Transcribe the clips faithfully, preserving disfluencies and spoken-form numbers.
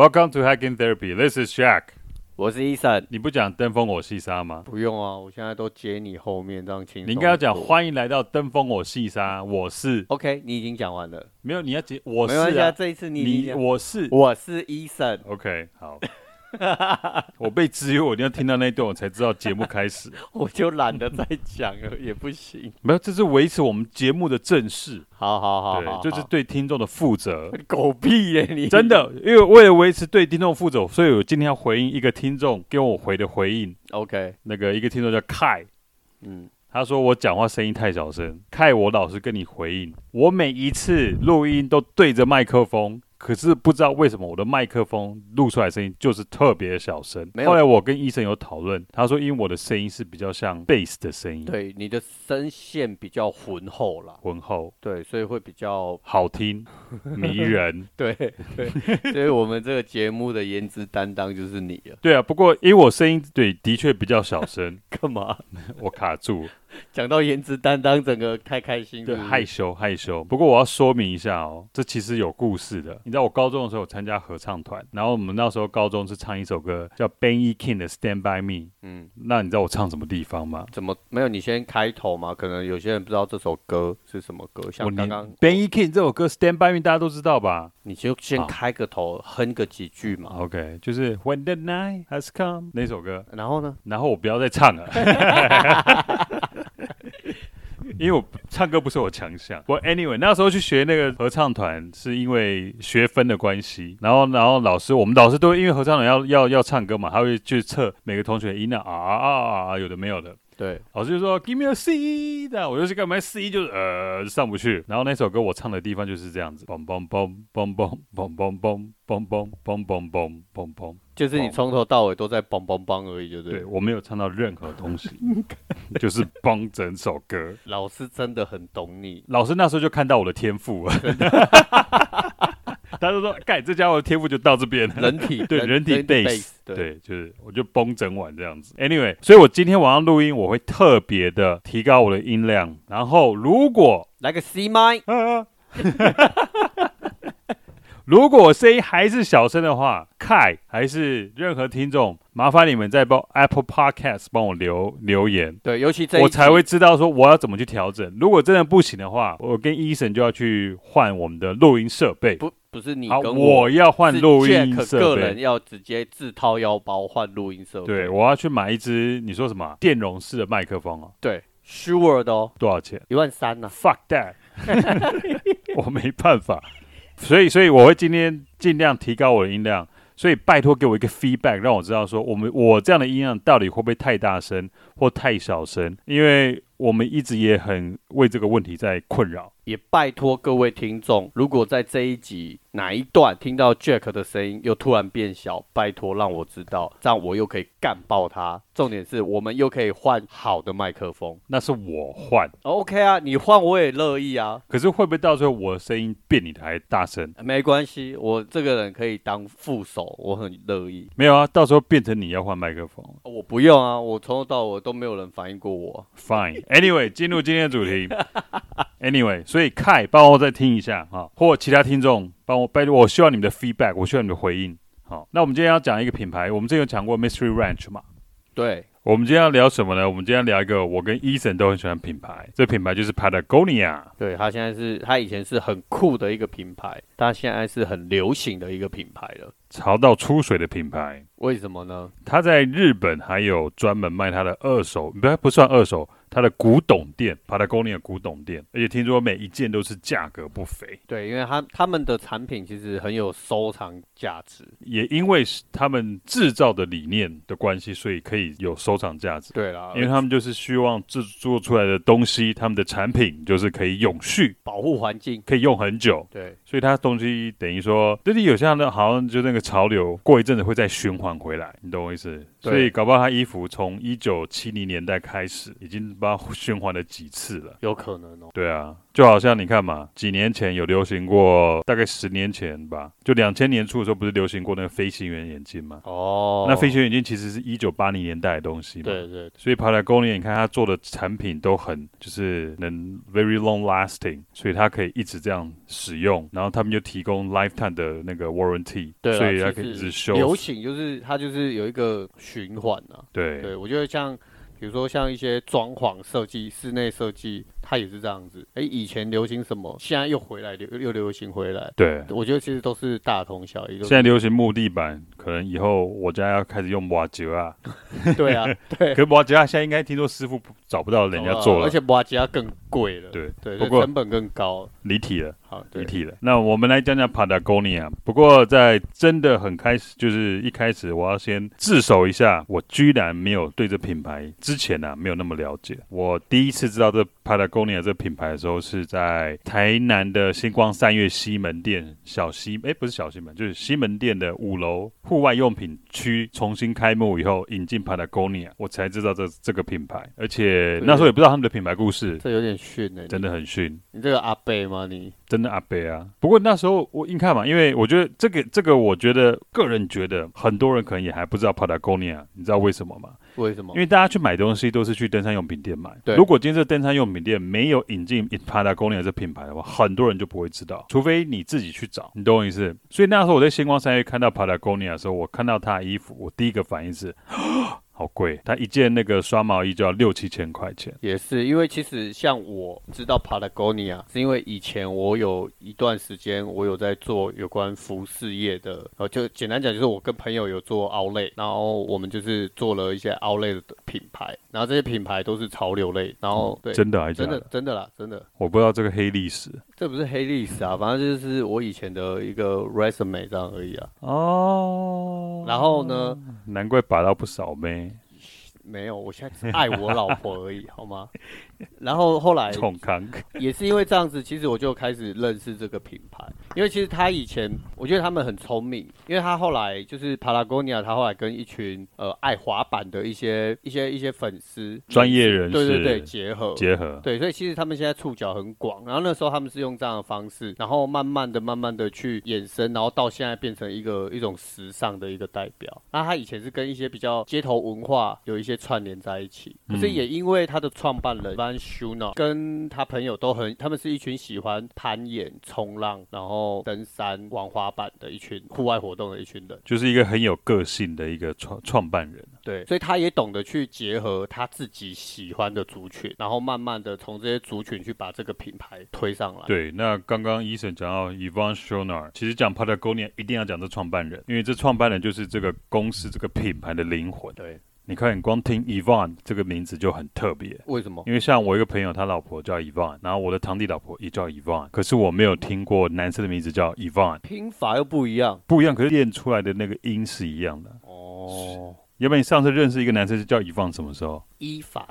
Welcome to Hacking Therapy. This is Shaq. 我是 Ethan。 你不講登峰我細沙嗎？ 不用啊，我現在都接你後面這樣輕鬆。 你應該要講歡迎來到登峰我細沙，我是。 OK， 你已經講完了。沒有， 你要接我是、啊。 沒關係啊，這一次你你我是我是 Ethan。 OK， 好。我被支援，我一定要聽到那一段，我才知道節目開始。 我就懶得再講了，也不行。 沒有，這是維持我們節目的正式。 好好好，好， 對，就是對聽眾的負責。 狗屁耶你！ 真的，因為為了維持對聽眾負責，所以我今天要回應一個聽眾給我回的回應。 OK， 那個一個聽眾叫 Kai， 嗯， 他說我講話聲音太小聲。Kai，我老實跟你回應，我每一次錄音都對着麥克風。可是不知道為什麼我的麥克風錄出來的聲音就是特別小聲。後來我跟醫生有討論，他說因為我的聲音是比較像 bass 的聲音， 對，你的聲線比較渾厚啦， 渾厚， 對，所以會比較好聽、迷人。 對對，所以我們這個節目的顏值擔當就是你了。 對啊，不過因為我聲音對的確比較小聲， 幹嘛？ 我卡住。 講到顏值擔當，整個開開心是不是？ 對，害羞害羞。不過我要說明一下哦，這其實有故事的。你知道我高中的時候有參加合唱團，然後我們那時候高中是唱一首歌叫 Benny King 的 Stand By Me。嗯，那你知道我唱什麼地方嗎？ 怎麼沒有？你先開頭嘛，可能有些人不知道這首歌是什麼歌。像剛剛 Benny King 這首歌 Stand By Me 大家都知道吧？ 你就先開個頭，哼個幾句嘛。 OK， 就是 When the Night Has Come 那首歌。 然後呢？ 然後我不要再唱了。因為我唱歌不是我強項。我 anyway 那時候去學那個合唱團，是因為學分的關係。然後，然後老師，我們老師都因為合唱團要要要唱歌嘛，他會去測每個同學音量啊啊啊啊，有的沒有的。對，老師就說 Give me a C， 那我就去幹嘛 C 就是呃上不去。然後那首歌我唱的地方就是這樣子，嘣嘣嘣嘣嘣嘣嘣嘣嘣嘣嘣嘣嘣嘣嘣，就是你從頭到尾都在嘣嘣嘣而已，就對。對，我沒有唱到任何東西，就是嘣整首歌。老師真的很懂你，老師那時候就看到我的天賦了。他就說：“蓋，這家伙的天賦就到這邊了。人體對人體 bass， 對, 對，就是我就崩整晚這樣子。Anyway， 所以我今天晚上錄音，我會特別的提高我的音量。然後如果來個 C 麥，啊、如果我聲音還是小聲的話，蓋還是任何聽眾，麻煩你們在幫 Apple Podcast 幫我留留言。對，尤其這一集我才會知道說我要怎麼去調整。如果真的不行的話，我跟醫生就要去換我們的錄音設備。不。”不是你跟我，我要換錄音設備。個人要直接自掏腰包換錄音設備。對，我要去買一支你說什麼電容式的麥克風哦。對 ，Shure 的哦。多少錢？一萬三呢。Fuck that！ 我沒辦法，所以所以我會今天盡量提高我的音量。所以拜託給我一個 feedback， 讓我知道說我們我這樣的音量到底會不會太大聲或太小聲，因為我們一直也很為這個問題在困擾。也拜託各位聽眾，如果在這一集哪一段聽到 Jack 的聲音又突然變小，拜託讓我知道，這樣我又可以幹爆他。重點是我們又可以換好的麥克風，那是我換。OK 啊，你換我也樂意啊。可是會不會到時候我的聲音比你的還大聲？沒關係，我這個人可以當副手，我很樂意。沒有啊，到時候變成你要換麥克風，我不用啊，我從頭到尾都沒有人反應過我。Fine，Anyway， 進入今天的主題。Anyway， 所以凱幫我再聽一下哈，或其他聽眾幫我拜託，我需要你們的 feedback， 我需要你們的回應。好，那我們今天要講一個品牌，我們之前有講過 Mystery Ranch 嘛？對，我們今天要聊什麼呢？我們今天要聊一個我跟 Ethan 都很喜歡的品牌，這個品牌就是 Patagonia。對，它現在是，它以前是很酷的一個品牌，它現在是很流行的一個品牌了，潮到出水的品牌。為什麼呢？它在日本還有專門賣它的二手，不不算二手。它的古董店 Patagonia 古董店，而且聽說每一件都是價格不菲。對，因為他他們的產品其實很有收藏價值，也因為他們製造的理念的關係，所以可以有收藏價值。對啦，因為他們就是希望製作出來的東西，他們的產品就是可以永續，保護環境，可以用很久。對，所以它東西等於說，就是有些人好像就那個潮流，過一陣子會再循環回來，你懂我意思？所以搞不好他衣服從一九七零年代開始已經不知道循環了幾次了， 有可能哦。 对啊，就好像你看嘛，幾年前有流行過，大概十年前吧，就兩千年初的時候，不是流行過那個飛行員眼鏡嗎？哦，那飛行員眼鏡其實是一九八零年代的東西嘛， 對 對, 對。 所以 Patagonia 你看它做的產品都很就是能 very long lasting， 所以它可以一直這樣使用，然後他們就提供 lifetime 的那個 warranty， 對， 所以它可以一直修。 流行就是它就是有一個循環啊， 對对，我覺得像。比如說像一些裝潢設計、室內設計，它也是這樣子。哎，以前流行什麼，現在又回來，又又流行回來。 對， 我覺得其實都是大同小異。現在流行木地板，可能以後我家要開始用瓦吉啊。 對啊，對。 可是瓦吉啊，現在應該聽說師傅找不到人家做了， 而且瓦吉啊更貴了。 對對，不過成本更高。 離題了。 好， 離題了。那我們來講講 Patagonia。不過在真的很開始，就是一開始我要先自首一下，我居然沒有對這品牌之前啊沒有那麼了解。我第一次知道這 Patagonia 這品牌的時候，是在台南的星光三越西門店小西，哎，不是小西門，就是西門店的五樓戶外用品區重新開幕以後，引進 Patagonia， 我才知道這這個品牌。而且那時候也不知道他們的品牌故事， 這有點遜哎、欸， 真的很遜。 你, 你這個阿伯嗎？你真的阿伯啊。不過那時候我硬看嘛，因為我覺得這個這個，我覺得個人覺得很多人可能也還不知道 Patagonia， 你知道為什麼嗎？ 為什麼？ 因為大家去買東西都是去登山用品店買。對。如果今天這登山用品店沒有引進 Patagonia 這品牌的話，很多人就不會知道，除非你自己去找。你懂我意思？所以那時候我在星光三越看到 Patagonia 的時候，我看到他的衣服，我第一個反應是。好貴，他一件那個刷毛衣就要六七千塊錢。 也是因為其實像我知道 Patagonia， 是因為以前我有一段時間我有在做有關服飾業的，呃，就簡單講就是我跟朋友有做 outlet， 然後我們就是做了一些 outlet 的品牌，然後這些品牌都是潮流類，然後、嗯、對， 真的還是假的？ 真的真的啦，真的。 我不知道這個黑歷史。 這不是黑歷史啊，反正就是我以前的一個 resume 這樣而已啊。 哦。 然後呢？ 難怪把到不少妹。 沒有，我現在只愛我老婆而已，好嗎？然後後來也是因為這樣子，其實我就開始認識這個品牌，因為其實他以前我覺得他們很聰明，因為他後來就是 Patagonia， 他後來跟一群呃愛滑板的一些一些一些粉絲專業人士， 對對對，結合結合， 對，所以其實他們現在觸角很廣，然後那時候他們是用這樣的方式，然後慢慢的慢慢的去衍生，然後到現在變成一個一種時尚的一個代表。那他以前是跟一些比較街頭文化有一些串聯在一起，可是也因為他的創辦人 Van Schooner 跟他朋友都很，他們是一群喜歡攀岩、衝浪，然後登山、玩滑板的一群戶外活動的一群人， 就是一個很有個性的一個創創辦人。 對，所以他也懂得去結合他自己喜歡的族群，然後慢慢的從這些族群去把這個品牌推上來。 對，那剛剛醫生講到 Yvon Chouinard， 其實講 Patagonia 一定要講這創辦人，因為這創辦人就是這個公司這個品牌的靈魂。對。你看，你光聽 Yvon 這個名字就很特別。為什麼？因為像我一個朋友，他老婆叫 Yvon， 然後我的堂弟老婆也叫 Yvon， 可是我沒有聽過男生的名字叫 Yvon， 拼法又不一樣，不一樣，可是練出來的那個音是一樣的。哦。要不然你上次認識一個男生是叫 Yvon， 什麼時候？伊凡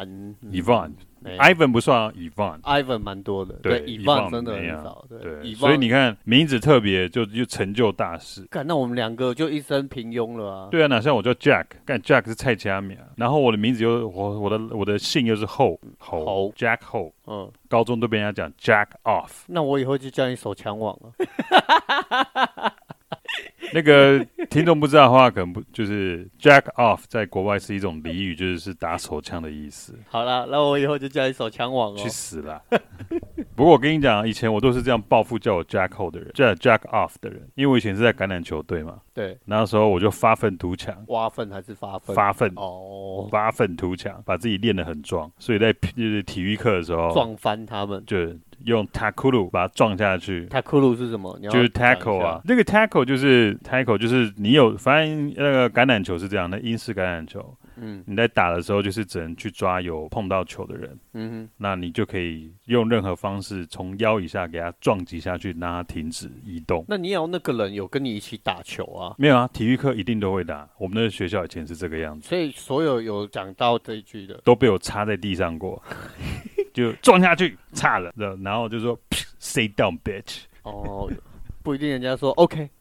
Yvon。Ivan 不算啊 ，Yvon，Ivan 蠻多的，對 ，Yvon 真的很少，對，對，所以你看名字特別就就成就大事。幹，那我們兩個就一生平庸了啊。對啊，哪像我叫 Jack， 幹 Jack 是蔡家名，然後我的名字又我我的我的姓又是後後 Jack Ho， 嗯，高中都被人家講 Jack Off， 那我以後就叫你手槍王了。那個聽眾不知道的話，可能不就是 Jack Off 在國外是一種俚語，就是是打手槍的意思。好啦，那我以後就叫你手槍王哦。去死啦！不過我跟你講，以前我都是這樣報復叫我 Jack Ho 的人，叫 Jack Off 的人，因為我以前是在橄欖球隊嘛。對。那時候我就發憤圖強。挖糞還是發憤？發憤哦，發憤圖強，把自己練得很壯，所以在就是體育課的時候撞翻他們，就用 tackle 把它撞下去。tackle 是什麼？就是 tackle 啊，那個 tackle 就是 tackle 就是你有，反正那個橄欖球是這樣的，英式橄欖球，嗯，你在打的時候就是只能去抓有碰到球的人，嗯哼，那你就可以用任何方式從腰以下給他撞擊下去，讓他停止移動。那你也要那個人有跟你一起打球啊？沒有啊，體育課一定都會打，我們的學校以前是這個樣子，所以所有有講到這一句的都被我插在地上過。就撞下去，差了，然後就說 "Sit down, bitch"。哦，不一定，人家說 "OK, come,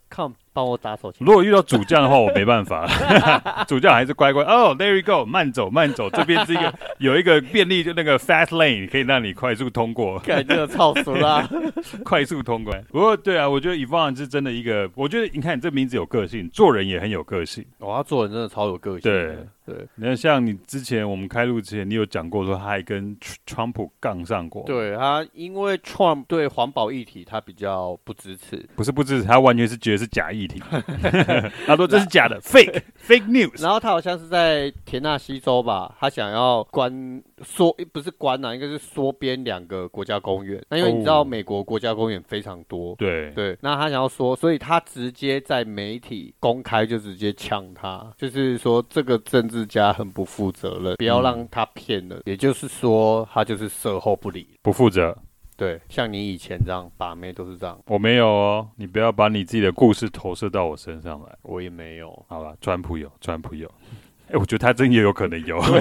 幫我打手槍。 如果遇到主將的話，我沒辦法，主將還是乖乖。哦、oh, ，There you go， 慢走慢走，這邊是一個有一個便利，就那個 fast lane 可以讓你快速通過。 感覺超熟啦， 快速通關。不過對啊，我覺得 Yvonne 是真的一個，我覺得你看你這名字有個性，做人也很有個性。 哦，他做人真的超有個性。 對。 對， 你看，像你之前我們開錄之前，你有講過說他還跟川普槓上過。 對，他因為 Trump 對環保議題他比較不支持， 不是不支持，他完全是覺得是假議題。他說這是假的，fake fake news。 然後他好像是在田納西州吧，他想要關縮，不是關啊，應該是縮編兩個國家公園。那因為你知道美國國家公園非常多， 對對，那他想要說，所以他直接在媒體公開就直接嗆他，就是說這個政治家很不負責任，不要讓他騙了、嗯。也就是說，他就是售後不理， 不負責。 對，像你以前這樣把妹都是這樣。 我沒有哦，你不要把你自己的故事投射到我身上來。 我也沒有。 好吧，川普有，川普有。哎、欸，我覺得他真也有可能有。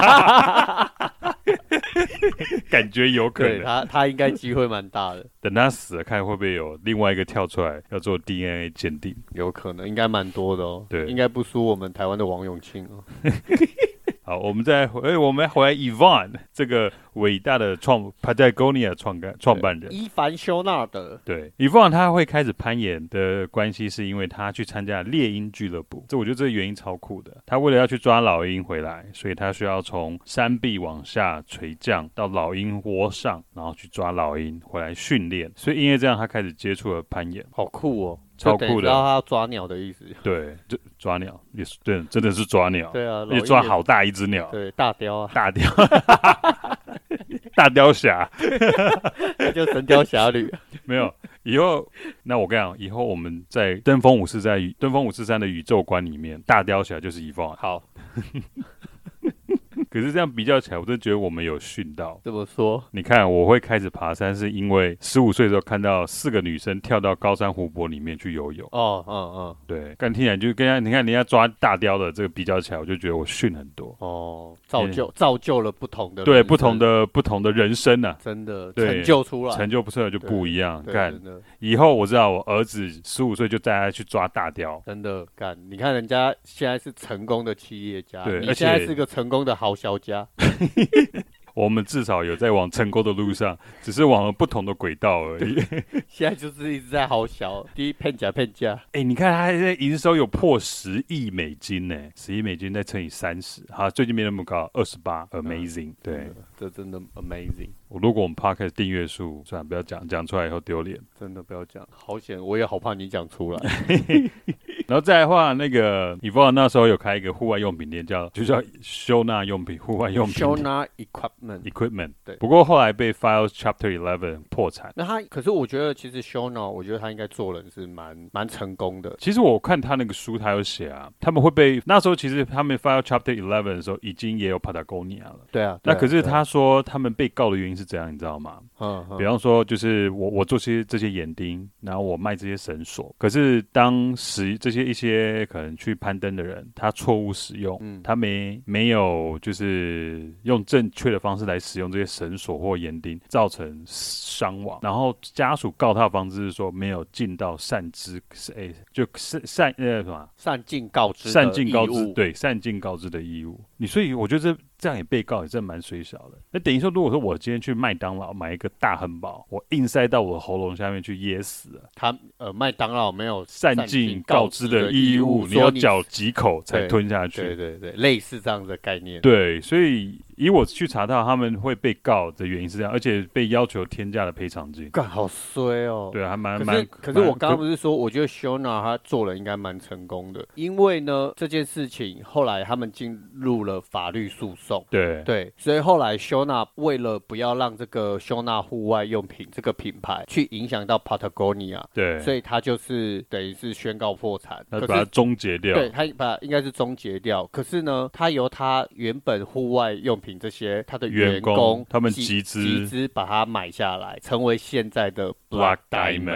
感覺有可能， 對他他應該機會蠻大的。 等他死了，看會不會有另外一個跳出來要做 D N A 鑑定。 有可能，應該蠻多的哦。 對， 應該不輸我們台灣的王永慶哦。 好，我們再回，我們回來 Yvonne 這個偉大的創 Patagonia 創辦創辦人伊凡修納德。 對 Yvonne 他會開始攀岩的關係，是因為他去參加獵鷹俱樂部。這我覺得這個原因超酷的。他為了要去抓老鷹回來，所以他需要從山壁往下垂降到老鷹窩上，然後去抓老鷹回來訓練。所以因為這樣，他開始接觸了攀岩。 好酷哦！ 超酷的， 知道他要抓鳥的意思。 對，就抓鳥也是對，真的是抓鳥。 對啊， 也抓好大一隻鳥。 對，大雕啊， 大雕，大雕俠， 那就神雕俠侶。 沒有，以後那我跟你講，以後我們在登峰五四在登峰五四三的宇宙觀裡面，大雕俠就是 Yvonne。 好。 可是這樣比較起來，我真的覺得我們有訓到。 怎麼說？ 你看，我會開始爬山，是因為十五歲的時候看到四個女生跳到高山湖泊裡面去游泳。 哦，嗯嗯，對。 剛聽起來就跟人家，你看人家抓大雕的這個比較起來，我就覺得我訓很多。 哦，造就造就了不同的人對不同的不同的人生啊， 真的成就出來， 成就不出來就不一樣。幹，以後我知道我兒子十五歲就帶他去抓大雕， 真的幹。你看人家現在是成功的企業家， 對， 你現在是個成功的豪小家。 我們至少有在往成功的路上，只是往了不同的軌道而已。 現在就是一直在豪小，第一騙假騙假。 哎，你看他現在營收有破十億美金呢，十億美金再乘以三十，好，最近沒那麼高，二十八 ，amazing，嗯。對， 這真的 amazing。 如果我們 podcast 訂閱數，算了，不要講，講出來以後丟臉。 真的不要講，好險，我也好怕你講出來。 然後再來的話，那個 Yvonne 那時候有開一個戶外用品店，叫就叫收納用品、戶外用品。 收納 equipment equipment 對。 不過後來被 file Chapter eleven 破產。 那他可是我覺得其實收納，我覺得他應該做人是蠻蠻成功的。 其實我看他那個書，他有寫啊，他們會被那時候其實他們 file Chapter eleven 的時候，已經也有 Patagonia 了。 對啊。 對啊，那可是他說他們被告的原因是怎樣，你知道嗎？嗯。比方說，就是我我做些這些眼釘，然後我賣這些繩索，可是當時這些一些可能去攀登的人，他錯誤使用，嗯、他沒沒有就是用正確的方式來使用這些繩索或眼釘，造成傷亡。然後家屬告他的方式是說沒有盡到善知，哎，就是善呃什麼？ 善盡告知的義務。 善盡告知，對，善盡告知的義務。你所以我覺得這這樣也被告也真的蠻衰小的。那等於說，如果說我今天去麥當勞買一個大漢堡，我硬塞到我的喉嚨下面去噎死了。 他呃麥當勞沒有善盡告知的義務，你要嚼幾口才吞下去。 對對對，對，類似這樣的概念。 對，所以以我去查到他們會被告的原因是這樣，而且被要求天價的賠償金。 幹，好衰哦。對，還蠻蠻。可是我剛剛不是說，我覺得 Shona 他做人應該蠻成功的，因為呢這件事情後來他們進入了法律訴訟。對對，所以後來 Shona 為了不要讓這個 Shona 戶外用品這個品牌去影響到 Patagonia， 對，所以他就是等於是宣告破產， 他把它終結掉。 對，他把應該是終結掉。可是呢，他由他原本戶外用品這些他的員工，員工他們集資集資把它買下來，成為現在的 Black Diamond。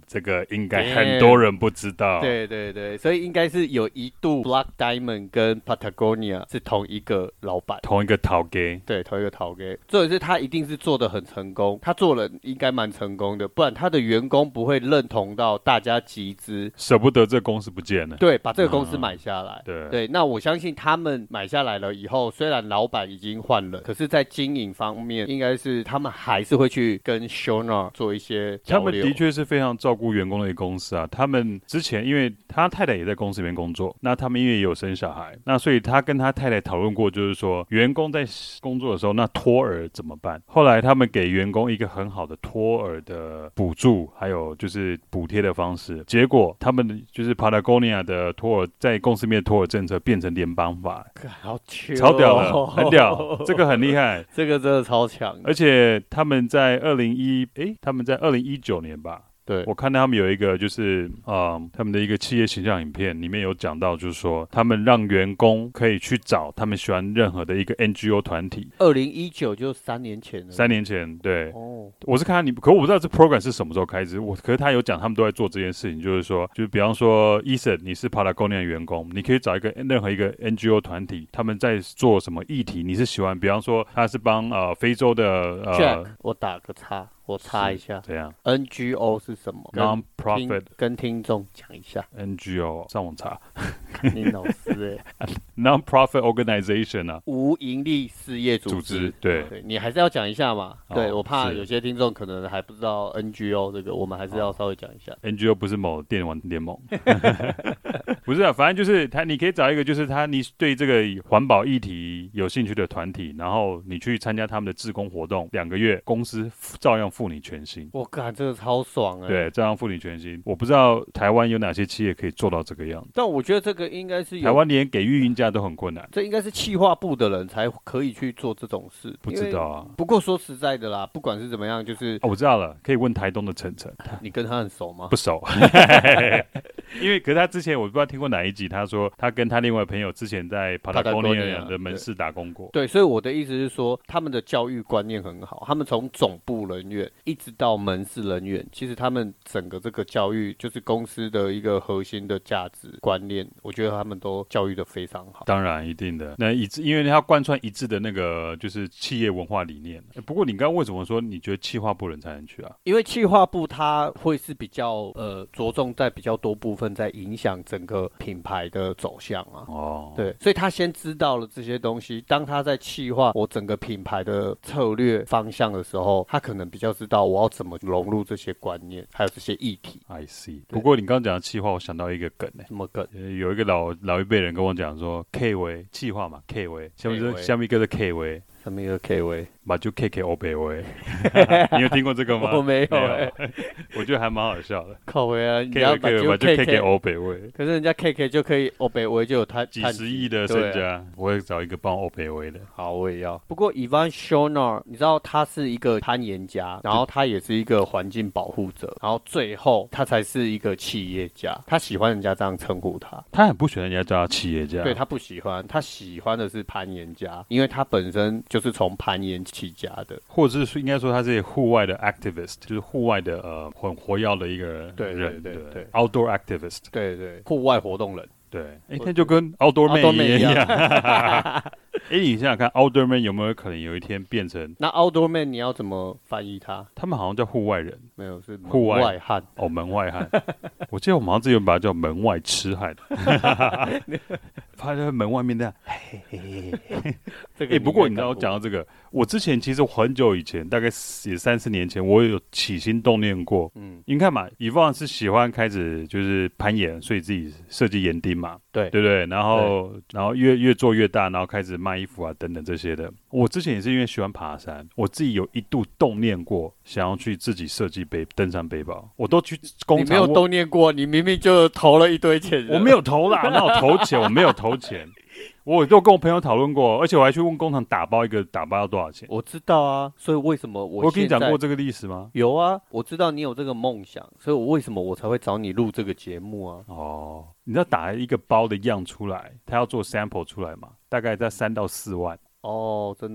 這個應該很多人不知道。 對對對，所以應該是有一度 Black Diamond 跟 Patagonia 是同一個老闆， 同一個頭家。 對，同一個頭家。所以是他一定是做得很成功，他做人應該蠻成功的，不然他的員工不會認同到大家集資， 捨不得這個公司不見了。 對，把這個公司買下來。 嗯、對對，那我相信他們買下來了以後，雖然老闆已經換了，可是在經營方面，應該是他們還是會去跟 Shonor 做一些交流。 他們的確是非常照顧員工的一個公司啊。他們之前因為他太太也在公司裡面工作，那他們因為也有生小孩，那所以他跟他太太討論過，就是說員工在工作的時候，那托兒怎麼辦？後來他們給員工一個很好的托兒的補助，還有就是補貼的方式。結果他們就是 Patagonia 的托兒在公司裡面的托兒政策變成聯邦法， 好強、哦， 超屌的，很屌，這個很厲害， 這個真的超強。 而且他們在二零一，哎，他們在二零一九年吧。 對， 我看到他們有一個就是呃他們的一個企業形象影片，裡面有講到就是說他們讓員工可以去找他們喜歡任何的一個 N G O 團體。 二零一九就三年前了。 三年前，對。 哦， 我是看到你，可我不知道這 program 是什麼時候開始。我可是他有講他們都在做這件事情，就是說，就是比方說 Ethan 你是 Patagonia 的員工，你可以找一個任何一個 N G O 團體，他們在做什麼議題，你是喜歡，比方說他是幫呃非洲的呃 Jack， 我打個叉。我插一下， 這樣 N G O 是什麼 ？Non-profit 跟聽眾講一下。 N G O 上網查。 你老師哎、欸、 ，Non-profit organization 啊， 無營利事業組織。組織對， 對，你還是要講一下嘛。哦、對，我怕有些聽眾可能還不知道 N G O 這個，我們還是要稍微講一下。 N G O 不是某電玩聯盟，不是啊，反正就是他，你可以找一個就是他，你對這個環保議題有興趣的團體，然後你去參加他們的志工活動，兩個月，公司照樣付你全薪。 我靠，這個超爽哎、欸！ 對，照樣付你全薪。我不知道台灣有哪些企業可以做到這個樣子， 但我覺得這個應該是有台灣連給育嬰假都很困難， 這應該是企劃部的人才可以去做這種事。 不知道啊。 不過說實在的啦，不管是怎麼樣，就是、 哦、我知道了，可以問台東的晨晨。 你跟他很熟嗎？ 不熟，因為可是他之前我不知道聽過哪一集，他說他跟他另外朋友之前在 Patagonia 的門市打工過。 對，對，所以我的意思是說，他們的教育觀念很好，他們從總部人員一直到門市人員，其實他們整個這個教育就是公司的一個核心的價值觀念，我覺得他們都教育的非常好。 當然一定的，那一致，因為他貫穿一致的那個就是企業文化理念。不過你剛剛為什麼說你覺得企劃部人才能去啊？ 因為企劃部它會是比較呃着重在比較多部分在影響整個品牌的走向啊。哦，對，所以他先知道了這些東西，當他在企劃我整個品牌的策略方向的時候，他可能比較知道我要怎麼融入這些觀念，還有這些議題。 I see。不過你剛剛講的企劃，我想到一個梗呢、欸。 什麼梗？ 呃、有一個老老一輩人跟我講說 ，K 為企劃嘛 ，K 為，下面是下面一個是 K 為。 什麼一個 K 位？ 把就 K K O 北威，你有聽過這個嗎？ 我沒有、欸， 我覺得還蠻好笑的。 靠位啊，你 K 要 K 把就 K K O 北威， 可是人家 K K 就可以 O 北威就有他幾十億的身家，啊、我會找一個幫 O 北威的。 好，我也要。不過 Yvon Chouinard，你知道他是一個攀岩家，然後他也是一個環境保護者，然後最後他才是一個企業家。他喜歡人家這樣稱呼他， 他很不喜歡人家叫他企業家。 對，他不喜歡，他喜歡的是攀岩家，因為他本身就是從攀岩起家的， 或者是應該說他是戶外的 activist， 就是戶外的呃很活躍的一個人， 對對對 對，對 ，outdoor activist， 對對，戶外活動人。對， 哎，那就跟 Outdoor Man 一樣。哎，你想想看 ，Outdoor Man 有沒有可能有一天變成？ 那 Outdoor Man 你要怎麼翻譯它？ 他們好像叫戶外人， 沒有，是戶外漢。哦， 門外漢。我記得我們好像之前把它叫門外痴漢。他在門外面那樣。嘿嘿嘿嘿。哎，不過你知道我講到這個，我之前其實很久以前，大概也三四年前，我有起心動念過。嗯，你看嘛，Yvon是喜歡開始就是攀岩，所以自己設計岩釘嘛，對對不對？然後然後越越做越大，然後開始賣衣服啊等等這些的。我之前也是因為喜歡爬山，我自己有一度動念過，想要去自己設計背登山背包。我都去工廠， 你沒有動念過，你明明就投了一堆錢。 我沒有投啦，那我投錢，我沒有投錢。我都跟我朋友討論過，而且我還去問工廠打包一個打包要多少錢。 我知道啊，所以為什麼我我跟你講過這個歷史嗎？ 有啊，我知道你有這個夢想，所以我為什麼我才會找你錄這個節目啊？ 哦，你知道打一個包的樣出來，他要做 sample 出來嘛？大概在三到四萬。 哦，真的哦。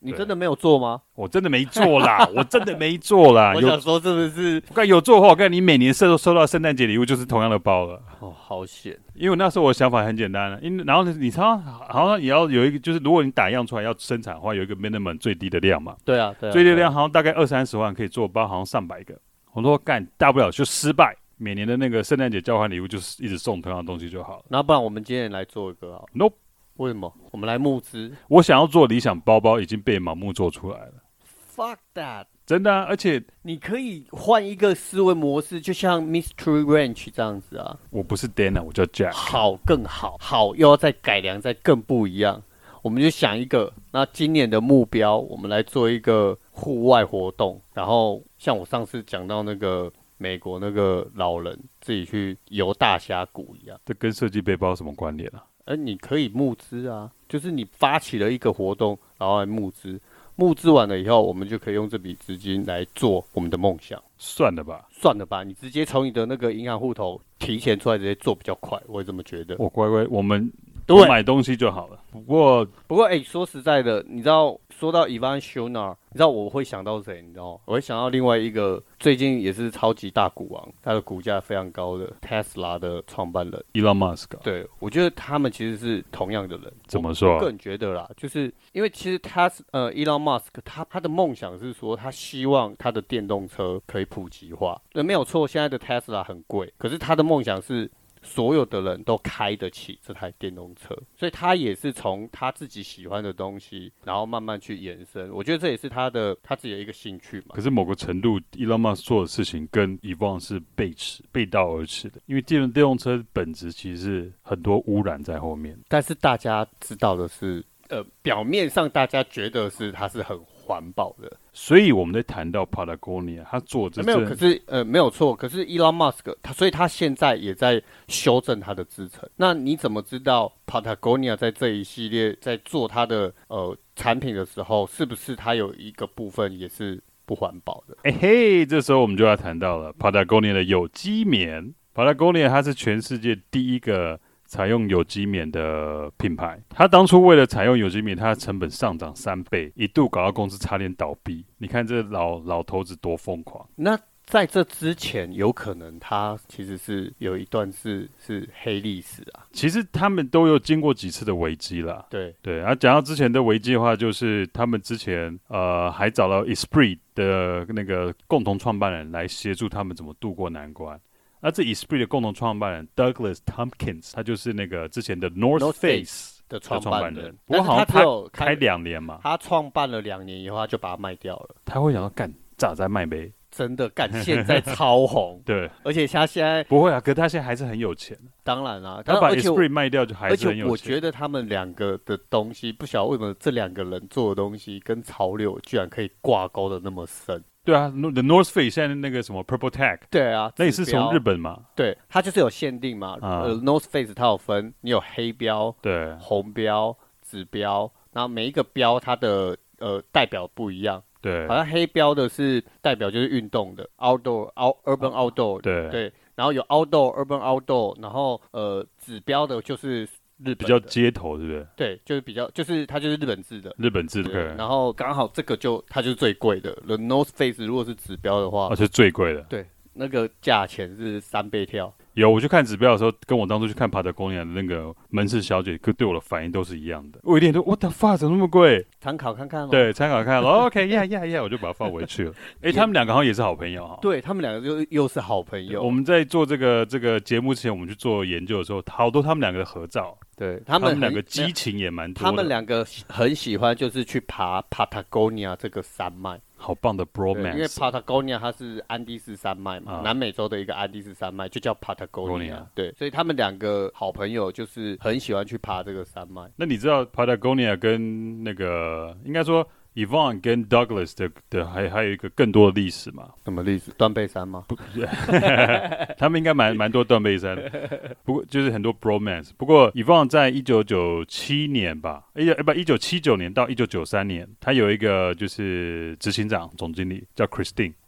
你真的沒有做嗎？ 我真的沒做啦，我真的沒做啦。 我想說是不是？ 我看有做的話，我看你每年收收到聖誕節禮物就是同樣的包了。 哦，好險！因為那時候我的想法很簡單了，因為然後你常常好像也要有一個，就是如果你打樣出來要生產的話，有一個 minimum 最低的量嘛。 對啊，對啊。 最低的量好像大概二三十萬可以做包，好像上百個。我說幹，大不了就失敗。每年的那個聖誕節交換禮物就是一直送同樣的東西就好了。 那不然我們今天來做一個好 ？Nope。 為什麼？我們來募資。 我想要做理想包包已經被盲目做出來了。 Fuck that！ 真的啊，而且你可以換一個思維模式，就像 Mystery Ranch 這樣子啊。 我不是 Dana， 我叫 Jack。 好，更好，好又要再改良，再更不一樣。我們就想一個，那今年的目標，我們來做一個戶外活動。然後像我上次講到那個。美國那個老人自己去遊大峽谷一樣， 這跟設計背包有什麼關聯啊？ 而你可以募資啊，就是你發起了一個活動，然後來募資，募資完了以後，我們就可以用這筆資金來做我們的夢想。 算了吧， 算了吧，你直接從你的那個銀行戶頭提錢出來，直接做比較快，我也這麼覺得。 我乖乖，我們多買東西就好了。不過， 不過，哎、欸，說實在的，你知道，說到 Ivan Shonar， 你知道我會想到誰？你知道嗎？我會想到另外一個最近也是超級大股王，他的股價非常高的 Tesla 的創辦人 Elon Musk。 對，我覺得他們其實是同樣的人。 怎麼說、啊？ 我個人覺得啦，就是因為其實他呃 Elon Musk 他他的夢想是說，他希望他的電動車可以普及化。對，沒有錯，現在的 Tesla 很貴，可是他的夢想是。所有的人都開得起這台電動車，所以他也是從他自己喜歡的東西，然後慢慢去延伸。我覺得這也是他的他自己的一個興趣嘛。 可是某個程度 ，Elon Musk 做的事情跟 Ivan 是背馳、背道而馳的，因為電動電動車本質其實是很多污染在後面。 但是大家知道的是，呃，表面上大家覺得是它是很環保的。 所以我們在談到 Patagonia， 他做這、 呃、沒有，可是呃沒有錯，可是 Elon Musk 他，所以他現在也在修正他的製程。那你怎麼知道 Patagonia 在這一系列在做他的呃產品的時候，是不是他有一個部分也是不環保的？ 哎嘿，這時候我們就要談到了 Patagonia 的有機棉。Patagonia 它是全世界第一個採用有機棉的品牌，他當初為了採用有機棉，它的成本上漲三倍，一度搞到公司差點倒閉。你看這老老頭子多瘋狂！ 那在這之前，有可能他其實是有一段是是黑歷史啊。 其實他們都有經過幾次的危機啦。 對對，啊，講到之前的危機的話，就是他們之前呃還找到 Esprit 的那個共同創辦人來協助他們怎麼度過難關。那這 Esprit 的共同創辦人 Douglas Tompkins， 他就是那個之前的 North Face 的創辦人。不過好像他開兩年嘛， 他創辦了兩年以後，他就把它賣掉了。 他會想到幹咋在賣唄？ 真的幹，現在超紅。 對， 而且他現在不會啊，可是他現在還是很有錢。 當然啦、啊， 他把 Esprit 賣掉就還是很有錢。 而且我覺得他們兩個的東西，不曉得為什麼這兩個人做的東西跟潮流居然可以掛鈎的那麼深。 對啊 ，The North Face 現在那個什麼 Purple Tag， 對啊， 那也是從日本嘛？ 對，它就是有限定嘛。啊、呃 ，North Face 它有分，你有黑標、 對， 紅標、紫標，然後每一個標它的呃代表不一樣。 對， 好像黑標的是代表就是運動的 ，Outdoor、Out、Urban Outdoor， 對對，然後有 Outdoor、Urban Outdoor，然後呃紫標的就是。日本比較街頭，對不對？ 對，就是比較，就是它就是日本製的， 日本製的。對， 然後剛好這個就它就是最貴的。The North Face 如果是指標的話， 啊，是最貴的。 對，那個價錢是三倍跳。 有，我去看指標的時候，跟我當初去看 Patagonia 的那個門市小姐，對我的反應都是一樣的。我一點都 What the fuck 怎麼那麼貴？ 參考看看哦。 對，參考看看。OK，yeah yeah yeah，我就把它放回去了。哎、欸，他們兩個好像也是好朋友哈。 對，他們兩個就又是好朋友。 我們在做這個這個節目之前，我們去做研究的時候，好多他們兩個的合照。 對， 他們兩個激情也蠻多的。 他們兩個很喜歡，就是去爬 Patagonia 這個山脈。 好棒的 bromance， 因為 Patagonia 它是安第斯山脈嘛、啊，南美洲的一個安第斯山脈，就叫 Patagonia。對，所以他們兩個好朋友就是很喜歡去爬這個山脈。 那你知道 Patagonia 跟那個應該說 Ivan 跟 Douglas 的的還還有一個更多的歷史嗎？ 什麼歷史？斷背山嗎？不， 他們應該蠻蠻多斷背山的，不過就是很多 bromance。不過 Ivan 在一九九七年吧，哎呀，不，一九七九年到一九九三年，他有一個就是執行長、總經理叫 Christine。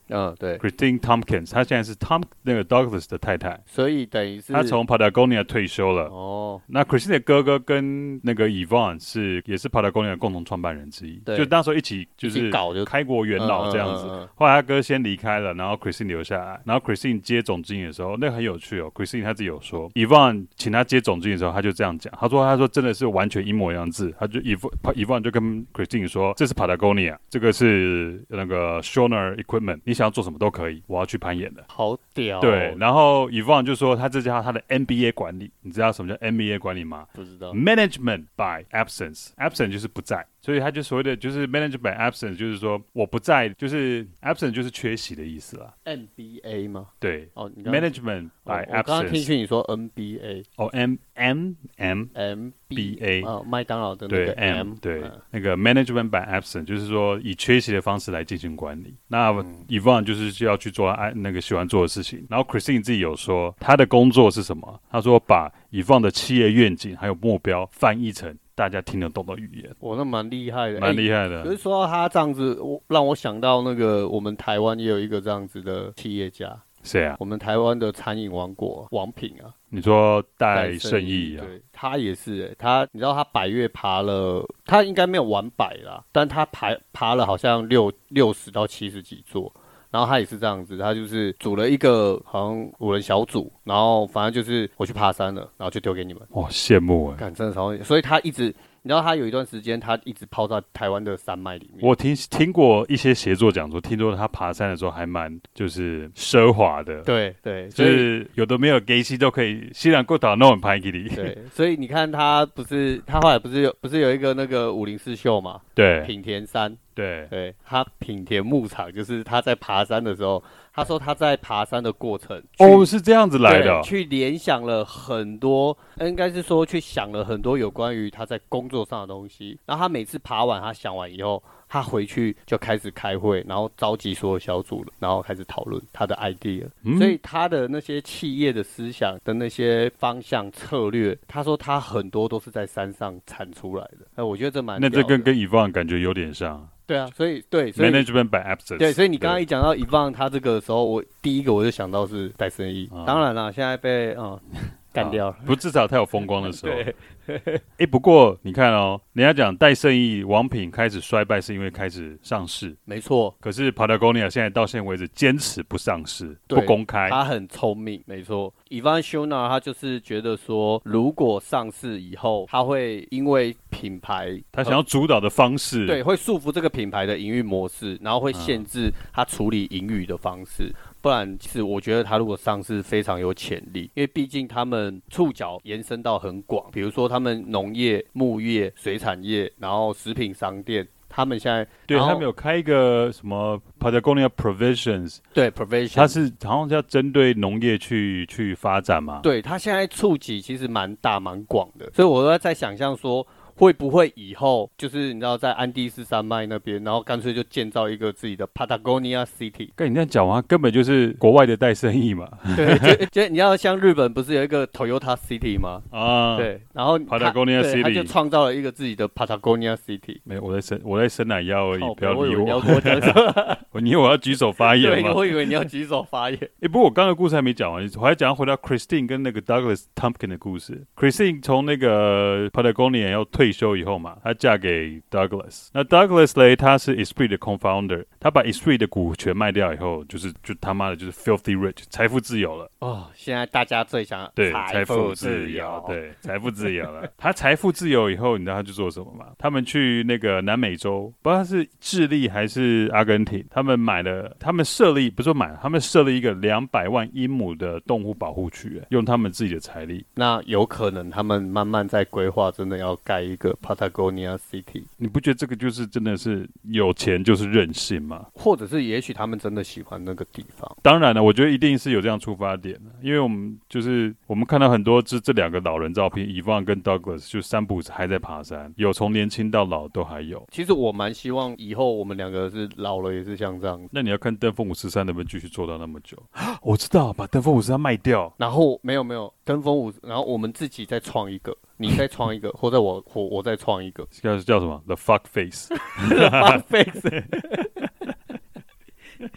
嗯，對 ，Christine Tompkins， 她現在是 Tom 那個 Douglas 的太太， 所以等於是她從 Patagonia 退休了。 哦， 那 Christine 的哥哥跟那個 Yvon 是也是 Patagonia 的共同創辦人之一，就那時候一起就是開國元老這樣子。嗯嗯嗯嗯、後來他哥先離開了，然後 Christine 留下來，然後 Christine 接總經理的時候，那個很有趣哦。Christine 他自己有說 ，Yvon 請他接總經理的時候，他就這樣講，他說他說真的是完全一模一樣字，他就 Yvon Yvon 就跟 Christine 說，這是 Patagonia， 這個是那個 Schorner Equipment， 你想要做什麼都可以，我要去攀岩的。 好屌、哦。 對，然後 Yvon 就說他這叫他的 M B A 管理，你知道什麼叫 M B A 管理嗎？ 不知道。 Management by absence，absent 就是不在。所以他就所謂的就是 managed by absence， 就是說我不在，就是 absent 就是缺席的意思啦。 M B A 嗎？ 對，哦， management by absence。我剛剛聽去你說 N B A， 哦 ，M M M M B A， 哦，麥當勞的那個 M， 對，那個 management by absence 就是說以缺席的方式來進行管理。那 Yvon 就是要去做愛那個喜歡做的事情。然後 Christine 自己有說他的工作是什麼？他說把 Yvon 的企業願景還有目標翻譯成大家聽得懂的語言。 我那蠻厲害的， 蠻厲害的。 可是說到他這樣子，我讓我想到那個我們台灣也有一個這樣子的企業家。 誰啊？ 我們台灣的餐飲王國王品啊。 你說戴勝益啊？ 對，他也是、欸，他你知道他百岳爬了，他應該沒有完百啦，但他爬爬了好像六六十到七十幾座。然後他也是這樣子，他就是組了一個好像五人小組，然後反正就是我去爬山了，然後就丟給你們。 哇，羨慕哎！ 幹，真的超，所以他一直。你知道他有一段時間，他一直泡在台灣的山脈裡面。我聽聽過一些協作講說，聽說他爬山的時候還蠻就是奢華的。 對對， 就是有的沒有給息都可以，雖然過島那種拍給你。 對，所以你看他不是他後來不是有不是有一個那個武林四秀嘛？ 對， 品田山。 對對，他品田牧場就是他在爬山的時候，他說他在爬山的過程哦是這樣子來的、哦， 去聯想了很多，應該是說去想了很多有關於他在工作上的東西。然後他每次爬完，他想完以後，他回去就開始開會，然後召集所有小組了，然後開始討論他的 idea、嗯。所以他的那些企業的思想的那些方向策略，他說他很多都是在山上產出來的。哎，我覺得這蠻屌的。 那這跟跟 Yvon 感覺有點像。 對啊，所以對所以 ，management by absence。 對，所以你剛剛一講到Yvon他這個的時候，我第一個我就想到是戴勝益。啊、當然了，現在被啊幹掉了、啊。 不，至少他有風光的時候。對。哎、欸，不過你看哦，人家講戴勝益王品開始衰敗是因為開始上市， 沒錯。 可是 Patagonia 現在到現在為止堅持不上市，不公開。 他很聰明，沒錯。Yvon Chouinard 他就是覺得說，如果上市以後，他會因為品牌， 他想要主導的方式， 對，會束縛這個品牌的營運模式，然後會限制他處理盈餘的方式。嗯、不然，其實我覺得他如果上市非常有潛力，因為畢竟他們觸角延伸到很廣，比如說他們農業、牧業、水產業，然後食品商店。他們現在對他們有開一個什麼 Patagonia Provisions， 對 Provisions， 它是好像是要針對農業去去發展嘛。 對，它現在觸及其實蠻大蠻廣的，所以我都在想象說，會不會以後就是你知道在安第斯山脈那邊，然後乾脆就建造一個自己的 Patagonia City。跟你這樣講完，根本就是國外的戴勝益嘛。 對，就就你要像日本不是有一個 Toyota City 嗎？啊，對，然後 Patagonia City， 他就創造了一個自己的 Patagonia City。 沒有，我在生我在生奶腰而已，不要理我。 我以為你要跟我講什麼？ 我以為我要舉手發言嗎？ 對，我以為你要舉手發言。 哎，不過我剛剛的故事還沒講完，我還講回到 Christine 跟那個 Douglas Tompkins 的故事。Christine 從那個 Patagonia 要退休以後嘛。她嫁給 Douglas， 那 Douglas 嘞，他是 Esprit 的 co-founder， 他把 Esprit 的股權賣掉以後，就是就他媽的就是 filthy rich， 財富自由了。哦， 現在大家最想對財富自由，對財富自由了。他財富自由以後，你知道他去做什麼嗎？他們去那個南美洲，不知道是智利還是阿根廷，他們買了，他們設立不是說買了，他們設立一個兩百萬英畝的動物保護區，用他們自己的財力。 那有可能他們慢慢在規劃，真的要蓋一個 Patagonia City， 你不覺得這個就是真的是有錢就是任性嗎？ 或者是也許他們真的喜歡那個地方？ 當然了，我覺得一定是有這樣出發點的，因為我們就是我們看到很多這這兩個老人照片 ，Yvon 跟 Douglas 就三不五時還在爬山，有從年輕到老都還有。 其實我蠻希望以後我們兩個是老了也是像這樣。 那你要看登峰五十三能不能繼續做到那麼久？我知道，把登峰五十三賣掉， 然後沒有沒有登峰五，然後我們自己再創一個。你再創一個，或者我我我再創一個， 叫叫什麼 ？The fuck face，The fuck face。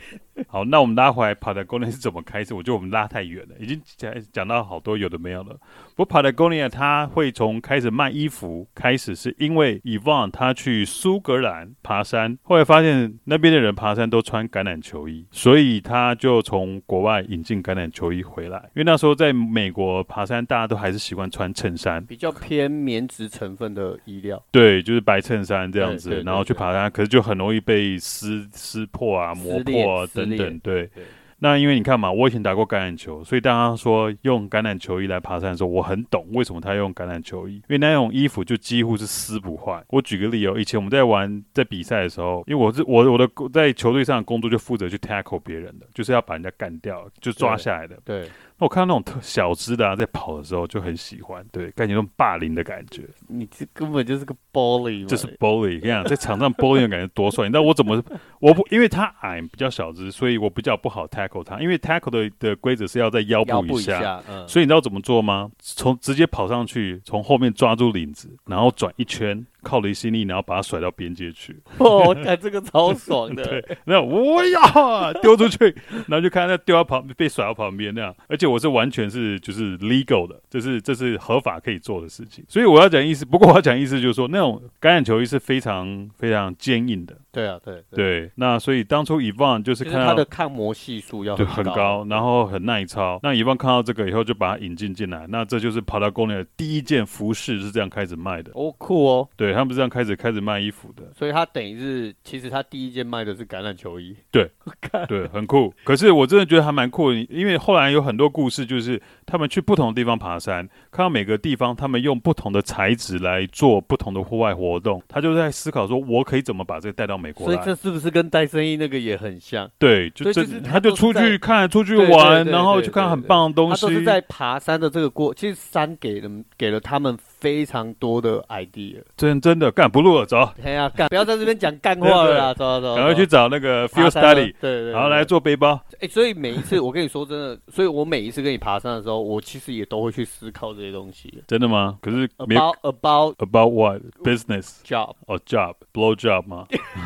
好，那我們拉回來 Patagonia 是怎麼開始？我覺得我們拉太遠了，已經講講到好多有的沒有了。不過 Patagonia 它會從開始賣衣服開始，是因為 Yvon 他去蘇格蘭爬山，後來發現那邊的人爬山都穿橄欖球衣，所以他就從國外引進橄欖球衣回來。因為那時候在美國爬山，大家都還是習慣穿襯衫， 比較偏棉質成分的衣料。 對，就是白襯衫這樣子， 對對對對， 然後去爬山，可是就很容易被撕撕破啊、磨破啊等等。對，對，那因為你看嘛，我以前打過橄欖球，所以當他說用橄欖球衣來爬山的時候，我很懂為什麼他用橄欖球衣，因為那種衣服就幾乎是撕不壞。我舉個例哦，以前我們在玩在比賽的時候，因為我是我我的在球隊上的工作就負責去 tackle 別人的，就是要把人家幹掉，就抓下來的。 對。對， 那我看到那種特小隻的啊，在跑的時候就很喜歡，對，感覺那種霸凌的感覺。 你這根本就是個 bully， 這是 bully。跟你講，在場上 bully 的感覺多帥。你知道我怎麼？我不，因為他矮比較小隻，所以我比較不好 tackle 他。因為 tackle 的的規則是要在腰部以下， 以下嗯、 所以你知道怎麼做嗎？從直接跑上去，從後面抓住領子，然後轉一圈。靠離心力，然後把它甩到邊界去。 哦，看這個超爽的。 對，然後我呀丟出去，然後就看他丟到旁被甩到旁邊那樣。而且我是完全是就是 legal 的，這是這是合法可以做的事情。所以我要講意思，不過我要講意思就是說，那種橄欖球衣是非常非常堅硬的。 對啊，對對, 對。那所以當初 Yvon 就是看到、 就是、它的抗磨係數要很高， 很高，然後很耐操。那 Yvon 看到這個以後，就把它引進進來。那這就是 Patagonia 的第一件服飾是這樣開始賣的。 哦，酷哦。 對，他們是這樣開始開。開始賣衣服的， 所以他等於是，其實他第一件賣的是橄欖球衣。 對，對，很酷。可是我真的覺得還蠻酷的，因為後來有很多故事，就是他們去不同的地方爬山，看到每個地方他們用不同的材質來做不同的戶外活動，他就在思考說，我可以怎麼把這個帶到美國來？ 所以這是不是跟戴森衣那個也很像？ 對，就這， 就是他就出去看，出去玩，然後去看很棒的東西。 他都是在爬山的這個過，其實山給了給了他們非常多的 idea。 真真的幹不錄了，走。 哎呀，幹不要在這邊講幹話了啦，走走走，趕快去找那個 field study，對 對, 對，然後來做背包。 哎、欸，所以每一次我跟你說真的，所以我每一次跟你爬山的時候，我其實也都會去思考這些東西。 真的嗎？可是 about about about what business job 哦、oh, job blow job 嗎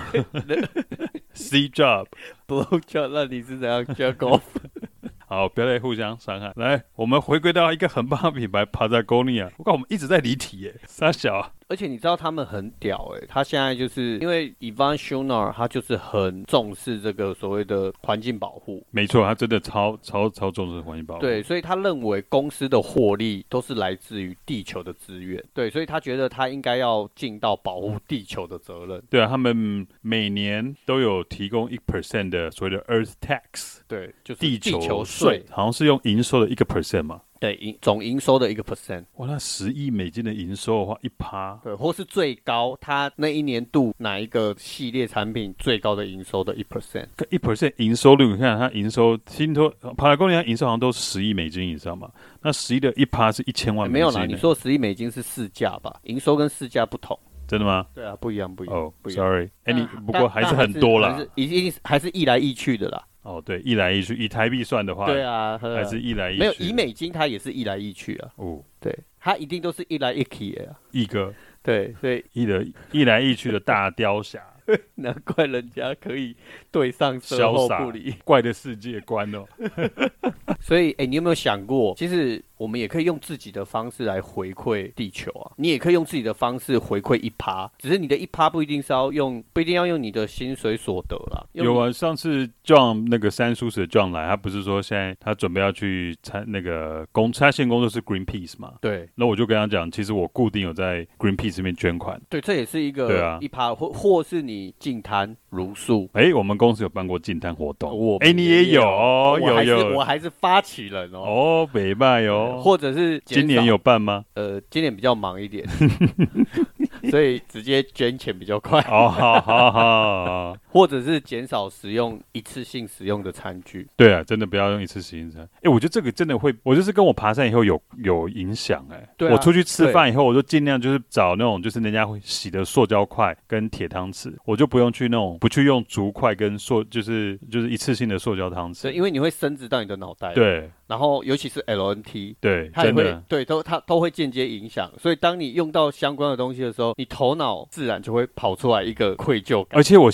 ？C job blow job， 那你是怎樣 jerk off？ 好，不要再互相傷害。來，我們回歸到一個很棒的品牌 Patagonia。我看我們一直在離題耶，三小啊。 而且你知道他們很屌哎、欸，他現在就是因為 Yvon Chouinard 他就是很重視這個所謂的環境保護。 沒錯，他真的超超超重視環境保護。 對，所以他認為公司的獲利都是來自於地球的資源。對，所以他覺得他應該要盡到保護地球的責任。 對啊，他們每年都有提供一 percent 的所謂的 Earth Tax。 對，就是地球稅，好像是用營收的一個 percent 嘛。 對，總營收的一個 percent。 哇，那十億美金的營收的話，一趴。 對，或是最高，他那一年度哪一個系列產品最高的營收的一 percent？ 一 percent 營收率，你看它營收，聽說 Patagonia 營收好像都十億美金以上嘛。那十億的一趴是一千萬美金、欸欸。沒有啦， 你說十億美金是市價吧？營收跟市價不同。 真的嗎？ 對啊，不一樣，不一樣。 哦、 oh, sorry， 哎、欸，你不過還是很多啦， 一定還是一來一去的啦。 哦，對，一來一去，以台幣算的話， 對啊， 還是一來一去。 沒有，以美金它也是一來一去啊。哦，對，它一定都是一來一去的、啊。 一個， 對，所以一的一來一去的大雕俠。 難怪人家可以對上售後不理， 怪的世界觀哦。 所以，哎、欸，你有沒有想過，其實我們也可以用自己的方式來回饋地球啊？你也可以用自己的方式回饋一趴，只是你的一趴不一定是要用，不一定要用你的薪水所得啦。 有啊，上次 John 那個三叔的 John 來，他不是說現在他準備要去參那個工，他現工作是 Greenpeace 嘛？對。那我就跟他講，其實我固定有在 Greenpeace 這邊捐款。對，這也是一個一趴、啊，或或是你。你淨灘如數，哎、欸，我們公司有辦過淨灘活動，哎、欸，你也有，哦，有有，我還是發起人哦，哦，北拜哦，或者是今年有辦嗎？呃，今年比較忙一點，所以直接捐錢比較快，哦，好好好，或者是減少使用一次性使用的餐具，對啊，真的不要用一次性餐，哎、欸，我覺得這個真的會，我就是跟我爬山以後有有影響，哎，對、啊，我出去吃飯以後，我就盡量就是找那種就是人家會洗的塑膠筷跟鐵湯匙。我就不用去那種，不去用竹筷跟塑，就是就是一次性的塑膠湯匙。對，因為你會伸直到你的腦袋。對。然後尤其是 L N T， 對，它也會，真的，對，都它都會間接影響。所以當你用到相關的東西的時候，你頭腦自然就會跑出來一個愧疚感。而且我現在去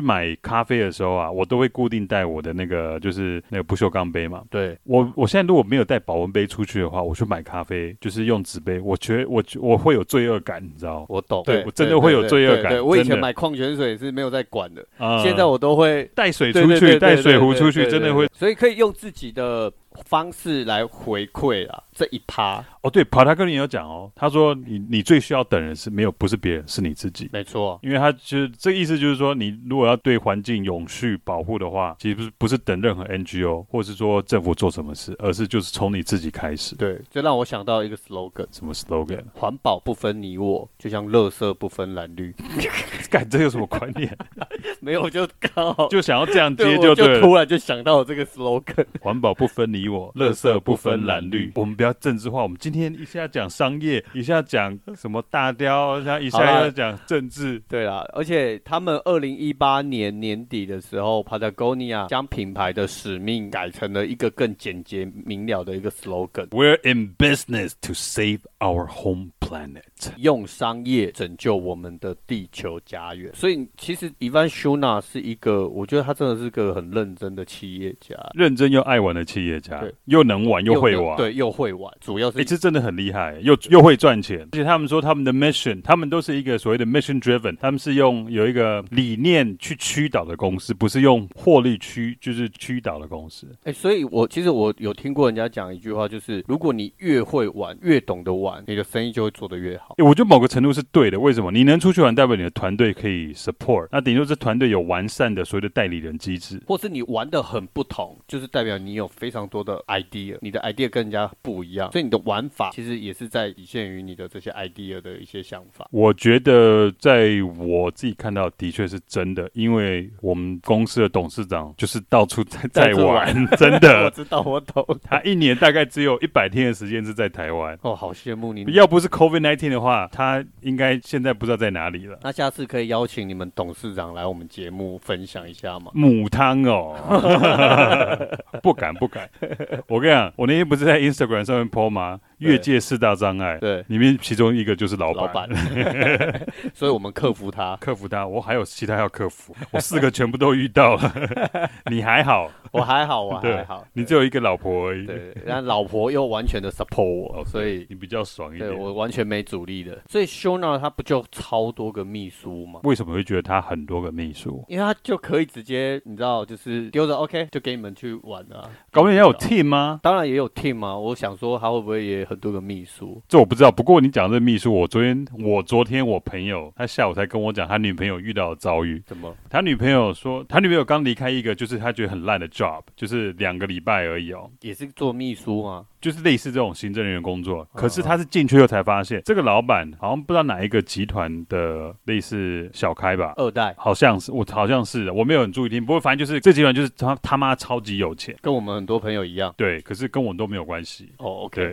買咖啡的時候啊，我都會固定帶我的那個就是那個不鏽鋼杯嘛。 對， 我我現在如果沒有帶保溫杯出去的話，我去買咖啡就是用紙杯，我覺得我我會有罪惡感，你知道嗎？ 我懂， 對，我真的會有罪惡感。對對對對對， 我以前買礦泉水是沒有在管的，嗯、現在我都會帶水出去，帶水壺出去，真的會。 所以可以用自己的方式來回饋啦，這一趴。 哦，對，帕塔哥尼有講哦，他說你你最需要等人是沒有，不是別人，是你自己。 沒錯， 因為他就是這個意思，就是說你如果要對環境永續保護的話，其實不是不是等任何 N G O 或是說政府做什麼事，而是就是從你自己開始。 對，這讓我想到一個 slogan， 什麼 slogan？ 環保不分你我，就像垃圾不分藍綠。 幹，這有什麼觀念？ 沒有，就剛好就想要這樣接就對了， 就突然就想到這個 slogan， 環保不分你我，垃圾不分藍綠。我們不要政治化，我們今天一下講商業，一下講什麼大雕，一下要講政治。 對啦，而且他們二零一八年年底的時候 Patagonia 將品牌的使命改成了一個更簡潔明了的一個 slogan。We're in business to save our home planet， 用商業拯救我們的地球家園。所以其實 Ivan Shuna 是一個，我覺得他真的是個很認真的企業家， 認真又愛玩的企業家，又能玩又會玩， 對，又會玩，主要是、欸、 這真的很厲害，又又會賺錢。而且他們說他們的 mission， 他們都是一個所謂的 mission driven， 他們是用有一個理念去驅導的公司，不是用獲利驅就是驅導的公司。 哎、欸，所以我其實我有聽過人家講一句話，就是如果你越會玩，越懂得玩，你的生意就會做得越好。 欸、我覺得某個程度是對的。為什麼？你能出去玩，代表你的團隊可以 support， 那頂多這團隊有完善的所謂的代理人機制， 或是你玩得很不同，就是代表你有非常多的 idea， 你的 idea 跟人家不一樣，所以你的玩法其實也是在體現於你的這些 idea 的一些想法。 我覺得在我自己看到的確是真的，因為我們公司的董事長就是到處在在玩，真的。 我知道，我懂。 他一年大概只有一百天的時間是在台灣。 哦，好羨慕你。 要不是 COVID 十九 的話，他應該現在不知道在哪裡了。 那下次可以邀請你們董事長來我們節目分享一下嗎？ 母湯哦，不敢不敢。我跟你講，我那天不是在 Instagram 上面 po 嗎？越界四大障礙，對，裡面其中一個就是老闆，老闆所以我們克服他， 克服他。我還有其他要克服，我四個全部都遇到了。你還好， 我還好，我還好。 你只有一個老婆而已， 對，但老婆又完全的 support 我，所以你比較爽一點。 對，我完全沒阻力的。所以 Shuna 他不就超多個秘書嗎？ 為什麼會覺得他很多個秘書？ 因為他就可以直接，你知道，就是丟着 OK 就給你們去玩啊。 搞不好也有 team 嗎？ 當然也有 team 啊。我想說他會不會也很多個秘書？ 這我不知道。不過你講這個秘書，我昨天我昨天我朋友他下午才跟我講他女朋友遇到的遭遇。 怎麼？ 他女朋友說，他女朋友剛離開一個就是他覺得很爛的 job， 就是兩個禮拜而已哦。 也是做秘書嗎？ 就是類似這種行政人員工作，可是他是進去後才發現，這個老闆好像不知道哪一個集團的類似小開吧， 二代， 好像是我好像是我沒有很注意聽，不過反正就是這集團就是他他媽超級有錢， 跟我們很多朋友一樣， 對，可是跟我都沒有關係。 哦 ，OK。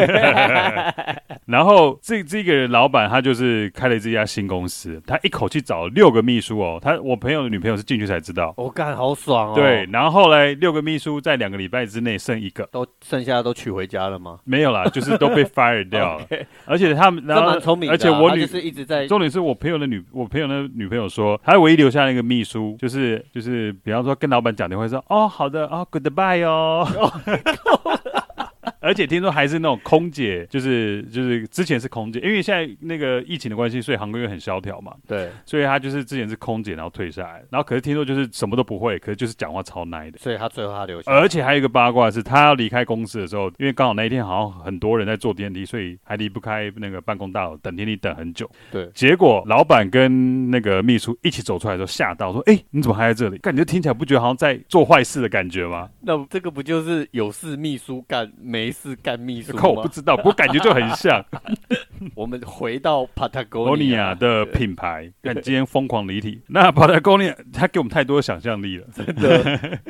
然後這這個老闆他就是開了這家新公司，他一口氣找了六個秘書哦，他我朋友的女朋友是進去才知道， 我幹好爽哦。 對，然後後來六個秘書在兩個禮拜之內剩一個， 都剩下的都娶回家了嗎？ 沒有啦，就是都被 fire 掉了。okay. 而且他們，然後蠻聰明的、啊， 而且我女就是一直在。 重點是我朋友的女，我朋友的女朋友說，他唯一留下那個秘書，就是就是，比方說跟老闆講電話說，哦，好的，哦 ，goodbye 哦。而且聽說還是那種空姐，就是就是之前是空姐，因為現在那個疫情的關係，所以航空業很蕭條嘛。對，所以他就是之前是空姐，然後退下來，然後可是聽說就是什麼都不會，可是就是講話超奶的。 所以他最後他留下來。 而且還有一個八卦是，他要離開公司的時候，因為剛好那一天好像很多人在坐電梯，所以還離不開那個辦公大樓，等電梯等很久。對，結果老闆跟那個秘書一起走出來的時候，嚇到說：“哎、欸，你怎麼還在這裡？”感覺聽起來不覺得好像在做壞事的感覺嗎？ 那這個不就是有事秘書幹，沒事幹秘書嗎？ 靠，我不知道，不過感覺就很像。 我們回到 Patagonia 的品牌，看今天瘋狂離題。那 Patagonia 他給我們太多想象力了， 真的。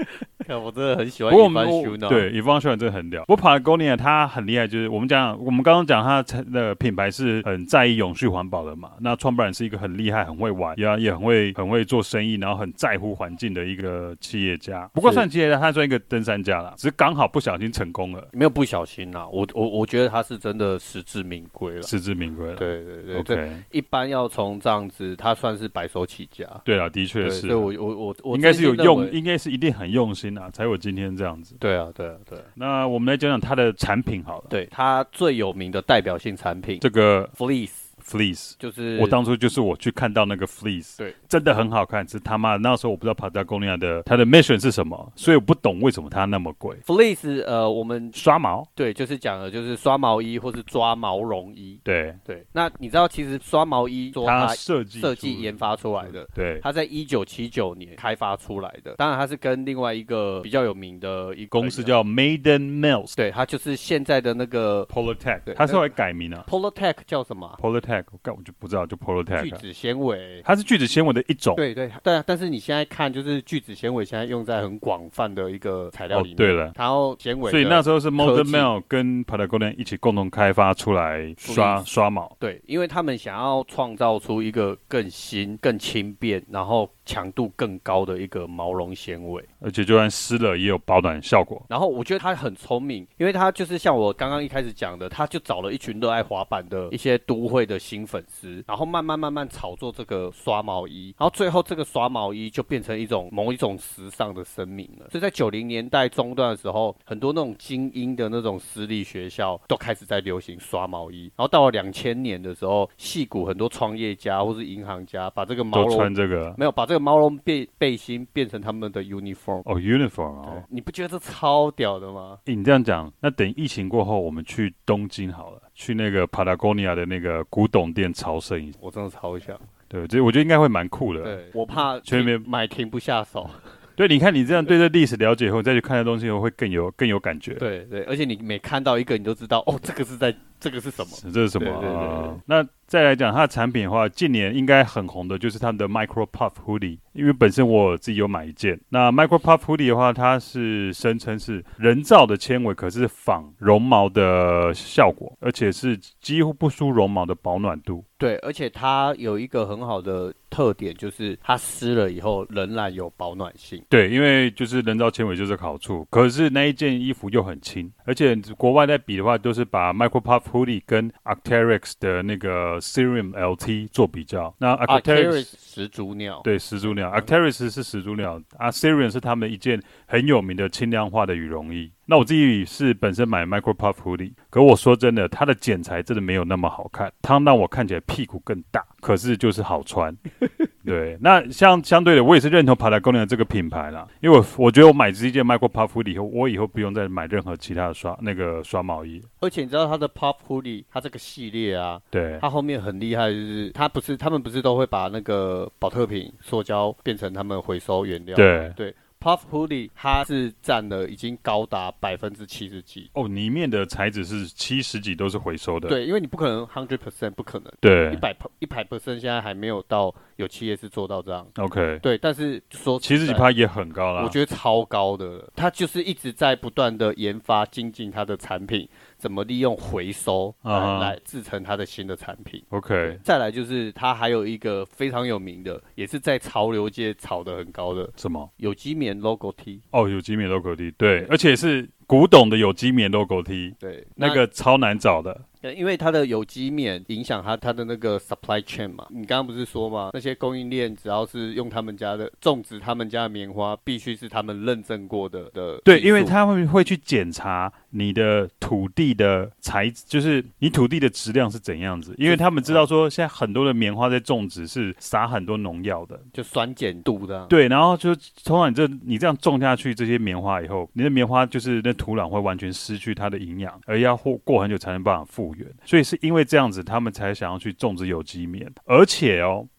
我真的很喜歡Yvon Chouinard。 對，Yvon Chouinard真的很屌。不過 Patagonia 它很厲害，就是我們講，我們剛剛講它的品牌是很在意永續環保的嘛。那創辦人是一個很厲害、很會玩，也也很會很會做生意，然後很在乎環境的一個企業家。不過算企業家，他算一個登山家啦，只是剛好不小心成功了。 沒有不小心啦，我我我覺得他是真的實至名歸了。 實至名歸了。 對對對 ，OK。 一般要從這樣子，他算是白手起家。 對啊，的確是。 對，我我我我應該是有用，應該是一定很用心啊，才有今天這樣子。 對啊，對啊，對啊。 那我們來講講他的產品好了。 對，他最有名的代表性產品， 這個 Fleece。Fleece 就是我當初就是我去看到那個 Fleece， 對，真的很好看。是他媽那時候我不知道 Patagonia 的它的 mission 是什麼，所以我不懂為什麼它那麼貴。 Fleece 呃，我們刷毛，对， 就是講的就是刷毛衣或是抓毛絨衣。 對對，那你知道其實刷毛衣它設計設計研發出來的， 對， 它在一九七九年開發出來的。當然它是跟另外一個比較有名的一個公司叫 Maiden Mills， 對，它就是現在的那個 Polartec， 它是会改名啊。 Polartec 叫什麼、啊、 ？Polartec， 我我就不知道，就 Polartec。 聚酯纖維， 它是聚酯纖維的一種。 對對對，但是你現在看，就是聚酯纖維現在用在很廣泛的一個材料裡面。哦、對了，然後纖維， 所以那時候是 Maiden Mills 跟 Patagonia 一起共同開發出來刷刷毛。 對，因為他們想要創造出一個更新、更輕便，然後強度更高的一個毛絨纖維， 而且就算濕了也有保暖效果。 然後我覺得他很聰明，因為他就是像我剛剛一開始講的，他就找了一群熱愛滑板的一些都會的新粉絲，然後慢慢慢慢炒作這個刷毛衣，然後最後這個刷毛衣就變成一種某一種時尚的聲名了。所以在九零年代中段的時候，很多那種精英的那種私立學校都開始在流行刷毛衣，然後到了兩千年的時候，矽谷很多創業家或是銀行家把這個毛絨都穿這個， 沒有把這個毛絨背背心變成他們的 uniform。 哦 uniform 哦， 你不覺得這超屌的嗎？ 欸、你這樣講，那等疫情過後我們去東京好了，去那個 Patagonia 的那個古董店朝聖一下。 我真的超想。 對，這我覺得應該會蠻酷的。 對，我怕全面買停不下手。 對，你看你這樣對這歷史了解以後，你再去看這東西以後會更有更有感覺。 對對，而且你每看到一個，你都知道哦，這個是在這個是什麼？ 這是什麼？ 對對對對啊、那再來講它的產品的話，近年應該很紅的就是他們的 Micro Puff Hoodie， 因為本身我自己有買一件。那 Micro Puff Hoodie 的話，它是聲稱是人造的纖維，可是仿絨毛的效果，而且是幾乎不輸絨毛的保暖度。 對，而且它有一個很好的特點，就是它濕了以後仍然有保暖性。 對，因為就是人造纖維就是個好處，可是那一件衣服又很輕，而且國外在比的話，都是把 Micro Puff Hoodie 跟 Arc'teryx 的那個 Cerium L T 做比較。那 Arc'teryx 始祖鳥， 對，始祖鳥 Arc'teryx 是始祖鳥，啊 Cerium 是他們一件很有名的輕量化的羽絨衣。那我自己是本身買 Micro Puff Hoodie， 可我說真的，它的剪裁真的沒有那麼好看，它讓我看起來屁股更大，可是就是好穿。對，那相相對的，我也是認同 Patagonia 這個品牌啦，因為我我覺得我買這件 Micro Puff Hoodie 以後，我以後不用再買任何其他的刷那個刷毛衣。 而且你知道它的 Puff Hoodie， 它這個系列啊， 對， 它後面很厲害，就是它不是他們不是都會把那個寶特瓶塑膠變成他們回收原料？ 對對。Puff Hoodie 它是佔了已經高達百分之七十幾哦，裡面的材質是七十幾都是回收的。 對，因為你不可能百分之百不可能。 對， 一百一百 percent 現在還沒有到有企業是做到這樣。 OK。對， 但是說七十幾趴也很高啦， 我覺得超高的了。它就是一直在不斷的研發精進它的產品，怎麼利用回收來、uh-huh. 來製成它的新的產品。 OK。 再來就是它還有一個非常有名的，也是在潮流界炒得很高的什麼有機棉 logo T。 哦，有機棉 logo T， 對，對，而且是古董的有機棉 logo T， 對， 那個超難找的。 因為它的有機棉影響它它的那個 supply chain 嘛，你剛剛不是說嗎？那些供應鏈只要是用他們家的種植他們家的棉花，必須是他們認證過的的。 對，因為他們會去檢查你的土地的材質，就是你土地的質量是怎樣子，因為他們知道說現在很多的棉花在種植是撒很多農藥的， 就酸鹼度的。 對，然後就通常你這你這樣種下去這些棉花以後，你的棉花就是那土壤會完全失去它的營養，而要過過很久才能辦法復原。所以是因為這樣子，他們才想要去種植有機棉。而且哦，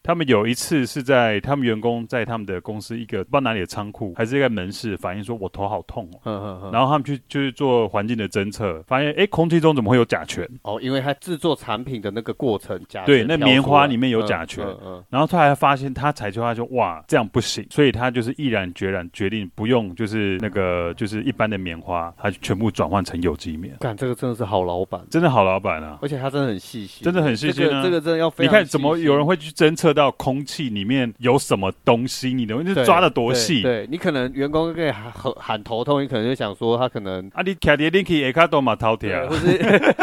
他們有一次是在他們員工在他們的公司一個不知道哪裡的倉庫，還是一個門市反映說我頭好痛哦，呵呵呵然後他們去就是做環境的偵測，發現哎空氣中怎麼會有甲醛？ 哦，因為他制作產品的那個過程甲醛對，那棉花裡面有甲醛， 嗯嗯嗯、 然後他還發現他採購他說哇這樣不行，所以他就是毅然決然決定不用就是那個就是一般的棉花，他全部轉換成有機棉。 幹，這個真的是好老闆， 真的好老闆啊！ 而且他真的很細心， 真的很細心啊！ 這個、這個真的要非常細心。 你看怎麼有人會去偵測到空氣裡面有什麼東西？你的就是抓得多細？ 對，你可能員工可以喊喊頭痛，你可能就想說他可能啊，你卡在冷氣下卡都嘛頭痛， 或是。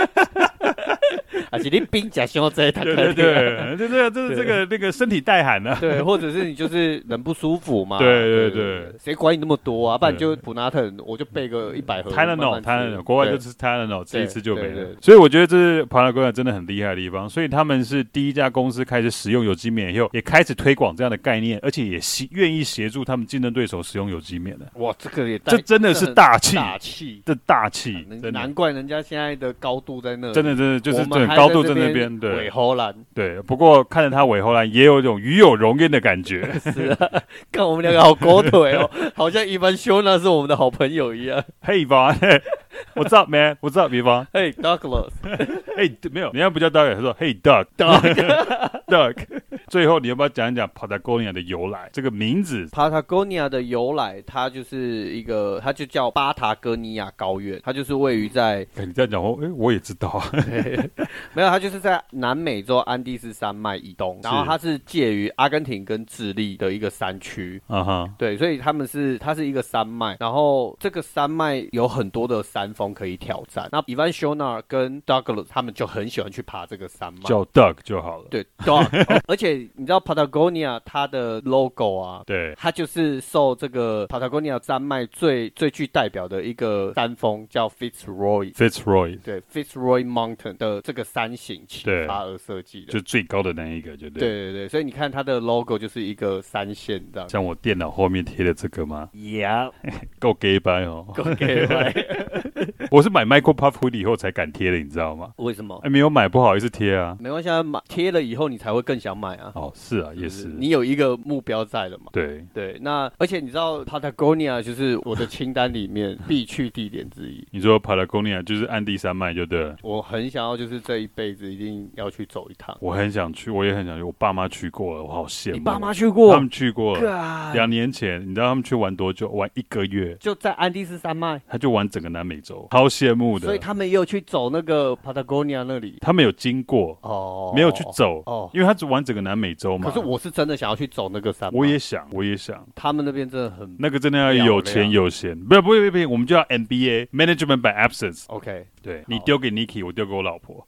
而且你冰甲胸這一台， 對對對，就這個就是這個那個身體帶寒呢， 對，或者是你就是人不舒服嘛， 對對對， 誰管你那麼多啊？不然你就普拿疼，我就備個一百盒 Tylenol，Tylenol， 國外就吃 Tylenol， 吃一次就沒了。所以我覺得這是Patagonia真的很厲害的地方，所以他們是第一家公司開始使用有機棉以後，也開始推廣這樣的概念，而且也願意協助他們競爭對手使用有機棉的。 哇，這個也這真的是大氣， 大氣， 這大氣， 難怪人家現在的高度在那， 真的真的就是這高度在那邊，對， 尾喉蘭， 對。不過看着他尾喉蘭，也有一種與有榮焉的感覺。 是啊，看我們兩個好狗腿哦，好像Ivan Shoner是我們的好朋友一樣。 Hey Ivan，What's up man？What's up Ivan？Hey Douglas， 嘿，沒有，人家不叫 Douglas，他說 Hey Doug，Doug。最後你要不要講一講 Patagonia 的由來？這個名字 Patagonia 的由來，它就是一個，它就叫巴塔哥尼亞高原，它就是位於在。 哎，你這樣講我，哎，我也知道。 沒有，它就是在南美洲安第斯山脈以東，然後它是介於阿根廷跟智利的一個山區。啊哈，對，所以他們是它是一個山脈，然後這個山脈有很多的山峰可以挑戰。那 Ivan Shoner 跟 Douglas 他們就很喜歡去爬這個山脈， 叫 Doug 就好了。 對 ，Doug，哦，而且你知道 Patagonia 它的 logo 啊， 對， 它就是受這個 Patagonia 山脈最最具代表的一個山峰叫 Fitzroy，Fitzroy， 對 ，Fitzroy Mountain 的這個山形啟發而設計的， 就最高的那一個，就對。 對對對，所以你看它的 logo 就是一個山線這樣。 像我電腦後面貼的這個嗎？ Yeah， 夠 gay 掰哦， 夠 gay 掰。 我是買 Michael Puff Hoodie 以後才敢貼的，你知道嗎？ 為什麼？ 哎，沒有買不好意思貼啊。 沒關係啊，買貼了以後你才會更想買啊。 哦，是啊，也是。 你有一個目標在了嘛？ 對對，那而且你知道 Patagonia 就是我的清單裡面必去地點之一。 你說 Patagonia 就是安第山脈就對了。 我很想要就是這一輩子一定要去走一趟。 我很想去，我也很想去。我爸媽去過了，我好羨慕。 你爸媽去過？ 他們去過了。兩年前，你知道他們去玩多久？玩一個月。就在安第斯山脈。 他就玩整個南美洲，好羨慕的。 所以他們也有去走那個 Patagonia 那裡。 他們有經過哦， 沒有去走哦，因為他只玩整個南美洲嘛。 可是我是真的想要去走那個山脈。 我也想，我也想。 他們那邊真的很那個真的要有錢有閒，不不不不，我們就要 M B A Management by Absence。OK， 對，你丟給 Niki， 我丟給我老婆。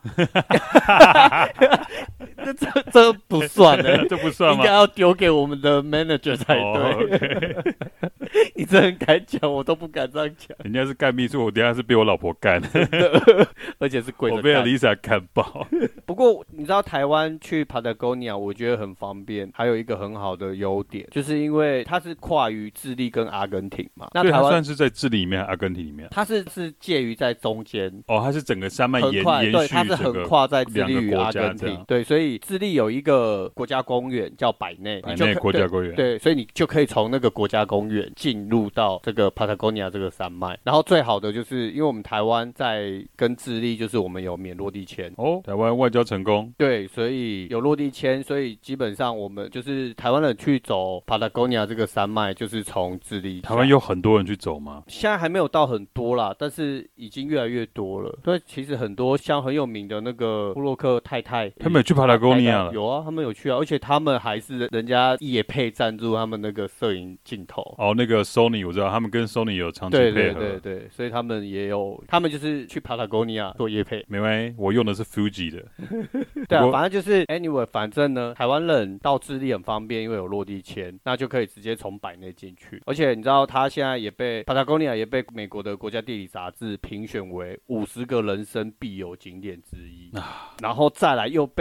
這這這不算的， 這不算嗎？ 應該要丟給我們的 manager 才對。 Oh, okay. 你這很敢講，我都不敢這樣講。 人家是幹秘書，我等一下是被我老婆幹， 而且是跪着幹。 我被 Lisa 幹爆。 不過你知道台灣去 Patagonia， 我覺得很方便，還有一個很好的優點，就是因為它是跨於智利跟阿根廷嘛。那台灣算是在智利裡面，阿根廷裡面。 它是是介於在中間。 哦，它是整個山脈延延續， 對，它是橫跨在智利與阿根廷。對，所以智利有一個國家公園叫百內， 百內國家公園。 對，所以你就可以從那個國家公園進入到這個 Patagonia 這個山脈。然後最好的就是因為我們台灣在跟智利，就是我們有免落地簽哦，台灣外交成功。 對，所以有落地簽，所以基本上我們就是台灣人去走 Patagonia 這個山脈，就是從智利。 台灣有很多人去走嗎？ 現在還沒有到很多啦，但是已經越來越多了。對，其實很多像很有名的那個布洛克太太， 他們有去 Patagonia 了。 有啊，他們有去啊，而且他們還是人家業配贊助他們那個攝影鏡頭。 哦，那個 Sony 我知道，他們跟 Sony 有長期配合。 對對對對，所以他們也有，他們就是去 Patagonia 做業配。 沒關係，我用的是 Fuji 的。 對啊，反正就是 anyway， 反正呢，台灣人到智利很方便，因為有落地簽，那就可以直接從百內進去。而且你知道，他現在也被 Patagonia 也被美國的國家地理雜誌評選為五十個人生必遊景點之一。啊，然後再來又被 Good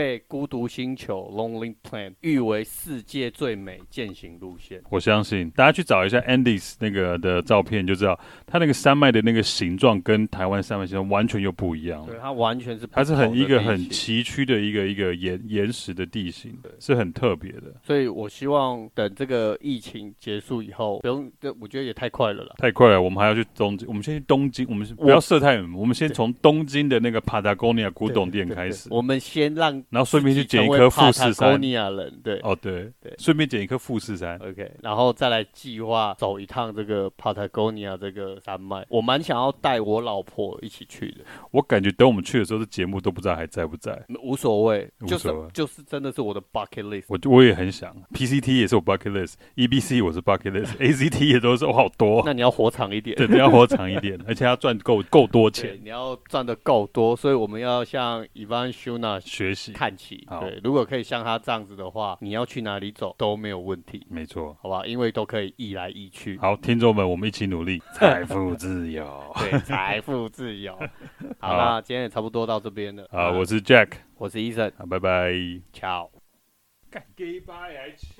獨星球 （Lonely Planet） 譽為世界最美健行路線。 我相信大家去找一下 Andes 那個的照片，就知道它那個山脈的那個形狀跟台灣山脈形狀完全又不一樣。 對，它完全是不它是很一個很崎嶇的一個一個岩岩石的地形，是很特別的。 所以我希望等這個疫情結束以後，不用，我覺得也太快了啦。 太快了，我們還要去東京，我們先去東京，我們不要設太遠，我們先從東京的那個 Patagonia 古董店開始。 我們先讓， 然後順便去撿一顆富士山。 人對， 哦對對，順便撿一顆富士山。 OK， 然後再來計劃走一趟這個 Patagonia 這個山脈。我蠻想要帶我老婆一起去的。我感覺等我們去的時候，這節目都不知道還在不在。 無所謂，就是就是真的是我的 bucket list。 我我也很想 ，P C T 也是我 bucket list，E B C 我是 bucket list，A C T 也都是我好多。 那你要活長一點， 對，你要活長一點，而且要賺夠夠多錢。 你要賺得夠多，所以我們要向 Ivan Shuna 學習看齊。對，如果可以像他這樣子的話，你要去哪裡走都沒有問題。 沒錯， 好吧，因為都可以易來易去。 好，聽眾們，我們一起努力，財富自由。 對，財富自由。好，那今天也差不多到這邊了。 好，我是 Jack， 我是 Ethan， 好，拜拜， ciao。 幹 gay 吧還